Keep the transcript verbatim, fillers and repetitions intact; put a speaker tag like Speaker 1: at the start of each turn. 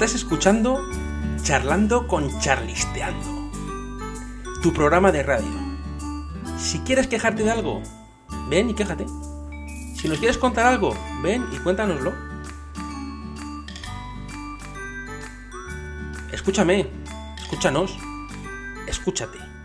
Speaker 1: Estás escuchando Charlando con Charlisteando, tu programa de radio. Si quieres quejarte de algo, ven y quéjate. Si nos quieres contar algo, ven y cuéntanoslo. Escúchame, escúchanos, escúchate.